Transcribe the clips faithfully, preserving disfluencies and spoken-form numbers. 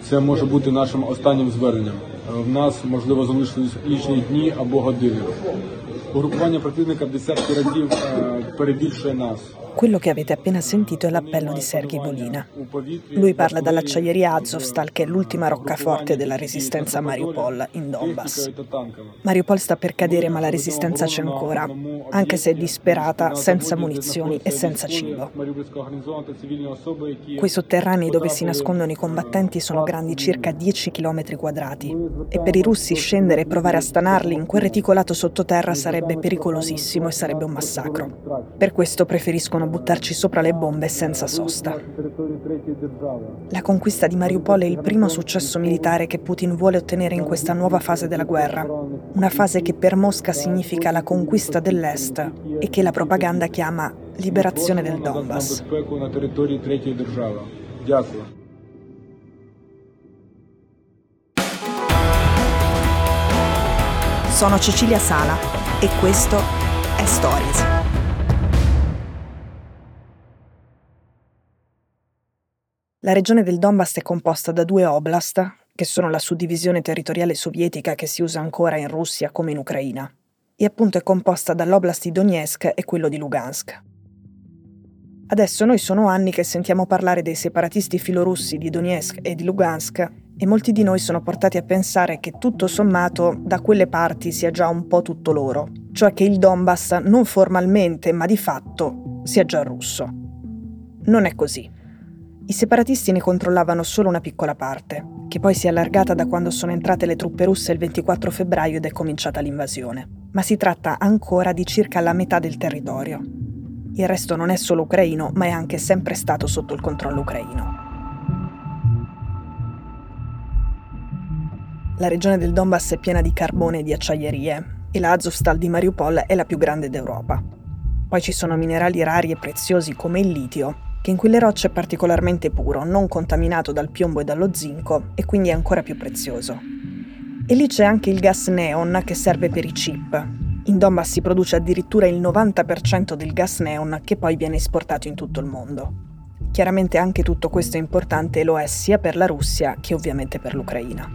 Це може бути нашим останнім зверненням. В нас, можливо, залишились лічні дні або години. Угрупування противника в десятки разів перебільшує нас. Quello che avete appena sentito è l'appello di Sergej Volina. Lui parla dall'acciaieria Azovstal, che è l'ultima roccaforte della resistenza a Mariupol, in Donbass. Mariupol sta per cadere, ma la resistenza c'è ancora, anche se è disperata, senza munizioni e senza cibo. Quei sotterranei dove si nascondono i combattenti sono grandi circa dieci chilometri quadrati e per i russi scendere e provare a stanarli in quel reticolato sottoterra sarebbe pericolosissimo e sarebbe un massacro. Per questo preferiscono buttarci sopra le bombe senza sosta. La conquista di Mariupol è il primo successo militare che Putin vuole ottenere in questa nuova fase della guerra, una fase che per Mosca significa la conquista dell'Est e che la propaganda chiama liberazione del Donbass. Sono Cecilia Sala e questo è Stories. La regione del Donbass è composta da due oblast, che sono la suddivisione territoriale sovietica che si usa ancora in Russia come in Ucraina, e appunto è composta dall'oblast di Donetsk e quello di Lugansk. Adesso noi sono anni che sentiamo parlare dei separatisti filorussi di Donetsk e di Lugansk e molti di noi sono portati a pensare che tutto sommato da quelle parti sia già un po' tutto loro, cioè che il Donbass non formalmente ma di fatto sia già russo. Non è così. I separatisti ne controllavano solo una piccola parte, che poi si è allargata da quando sono entrate le truppe russe il ventiquattro febbraio ed è cominciata l'invasione. Ma si tratta ancora di circa la metà del territorio. Il resto non è solo ucraino, ma è anche sempre stato sotto il controllo ucraino. La regione del Donbass è piena di carbone e di acciaierie, e la Azovstal di Mariupol è la più grande d'Europa. Poi ci sono minerali rari e preziosi come il litio, che in quelle rocce è particolarmente puro, non contaminato dal piombo e dallo zinco, e quindi è ancora più prezioso. E lì c'è anche il gas neon che serve per i chip. In Donbass si produce addirittura il novanta per cento del gas neon che poi viene esportato in tutto il mondo. Chiaramente anche tutto questo è importante e lo è sia per la Russia che ovviamente per l'Ucraina.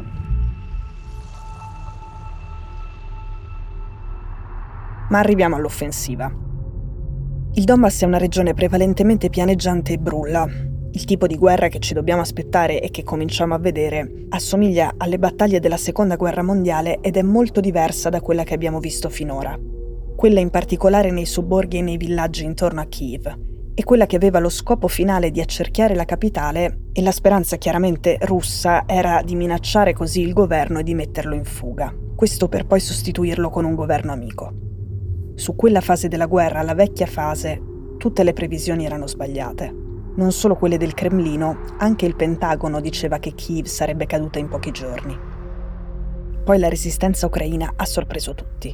Ma arriviamo all'offensiva. Il Donbass è una regione prevalentemente pianeggiante e brulla. Il tipo di guerra che ci dobbiamo aspettare e che cominciamo a vedere assomiglia alle battaglie della Seconda Guerra Mondiale ed è molto diversa da quella che abbiamo visto finora. Quella in particolare nei sobborghi e nei villaggi intorno a Kiev, e quella che aveva lo scopo finale di accerchiare la capitale e la speranza chiaramente russa era di minacciare così il governo e di metterlo in fuga. Questo per poi sostituirlo con un governo amico. Su quella fase della guerra, la vecchia fase, tutte le previsioni erano sbagliate. Non solo quelle del Cremlino, anche il Pentagono diceva che Kiev sarebbe caduta in pochi giorni. Poi la resistenza ucraina ha sorpreso tutti.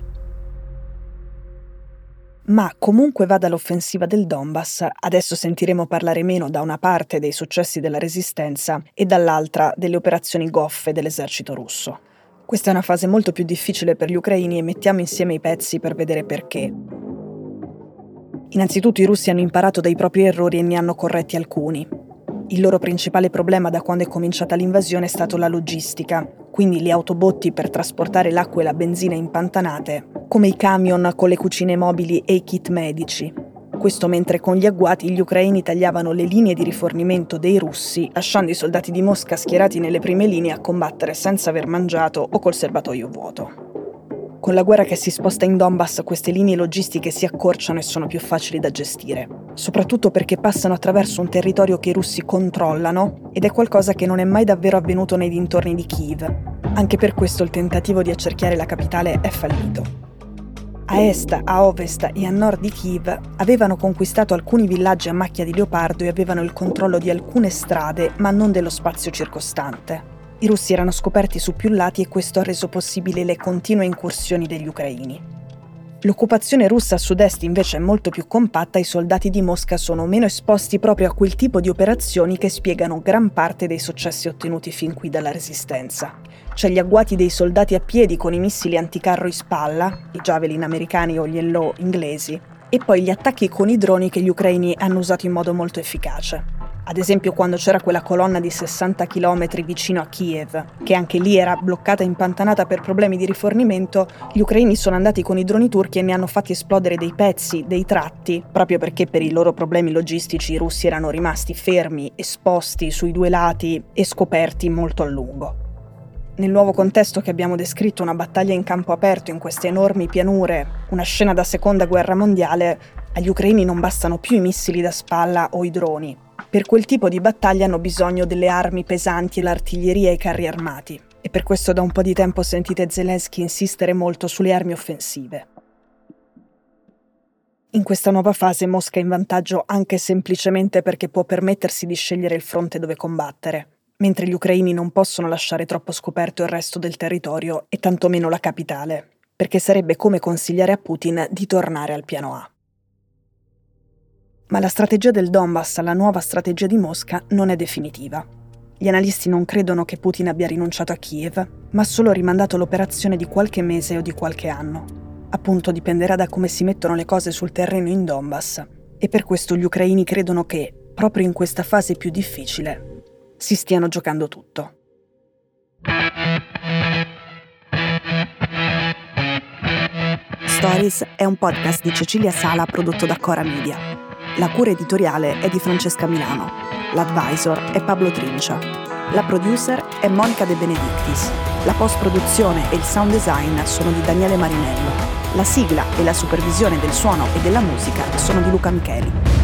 Ma comunque vada l'offensiva del Donbass, adesso sentiremo parlare meno da una parte dei successi della resistenza e dall'altra delle operazioni goffe dell'esercito russo. Questa è una fase molto più difficile per gli ucraini e mettiamo insieme i pezzi per vedere perché. Innanzitutto i russi hanno imparato dai propri errori e ne hanno corretti alcuni. Il loro principale problema da quando è cominciata l'invasione è stato la logistica, quindi le autobotti per trasportare l'acqua e la benzina impantanate, come i camion con le cucine mobili e i kit medici. Questo mentre con gli agguati gli ucraini tagliavano le linee di rifornimento dei russi, lasciando i soldati di Mosca schierati nelle prime linee a combattere senza aver mangiato o col serbatoio vuoto. Con la guerra che si sposta in Donbass, queste linee logistiche si accorciano e sono più facili da gestire, soprattutto perché passano attraverso un territorio che i russi controllano ed è qualcosa che non è mai davvero avvenuto nei dintorni di Kiev. Anche per questo il tentativo di accerchiare la capitale è fallito. A est, a ovest e a nord di Kiev avevano conquistato alcuni villaggi a macchia di leopardo e avevano il controllo di alcune strade, ma non dello spazio circostante. I russi erano scoperti su più lati e questo ha reso possibile le continue incursioni degli ucraini. L'occupazione russa a sud-est invece è molto più compatta e i soldati di Mosca sono meno esposti proprio a quel tipo di operazioni che spiegano gran parte dei successi ottenuti fin qui dalla resistenza. C'è gli agguati dei soldati a piedi con i missili anticarro in spalla, i Javelin americani o gli Hello inglesi, e poi gli attacchi con i droni che gli ucraini hanno usato in modo molto efficace. Ad esempio quando c'era quella colonna di sessanta chilometri vicino a Kiev, che anche lì era bloccata e impantanata per problemi di rifornimento, gli ucraini sono andati con i droni turchi e ne hanno fatti esplodere dei pezzi, dei tratti, proprio perché per i loro problemi logistici i russi erano rimasti fermi, esposti sui due lati e scoperti molto a lungo. Nel nuovo contesto che abbiamo descritto, una battaglia in campo aperto in queste enormi pianure, una scena da seconda guerra mondiale, agli ucraini non bastano più i missili da spalla o i droni. Per quel tipo di battaglia hanno bisogno delle armi pesanti e l'artiglieria e i carri armati. E per questo da un po' di tempo sentite Zelensky insistere molto sulle armi offensive. In questa nuova fase Mosca è in vantaggio anche semplicemente perché può permettersi di scegliere il fronte dove combattere, mentre gli ucraini non possono lasciare troppo scoperto il resto del territorio e tantomeno la capitale, perché sarebbe come consigliare a Putin di tornare al piano A. Ma la strategia del Donbass, la nuova strategia di Mosca, non è definitiva. Gli analisti non credono che Putin abbia rinunciato a Kiev, ma solo rimandato l'operazione di qualche mese o di qualche anno. Appunto dipenderà da come si mettono le cose sul terreno in Donbass, e per questo gli ucraini credono che, proprio in questa fase più difficile, si stiano giocando tutto. Stories è un podcast di Cecilia Sala prodotto da Cora Media. La cura editoriale è di Francesca Milano. L'advisor è Pablo Trincia. La producer è Monica De Benedictis. La post-produzione e il sound design sono di Daniele Marinello. La sigla e la supervisione del suono e della musica sono di Luca Micheli.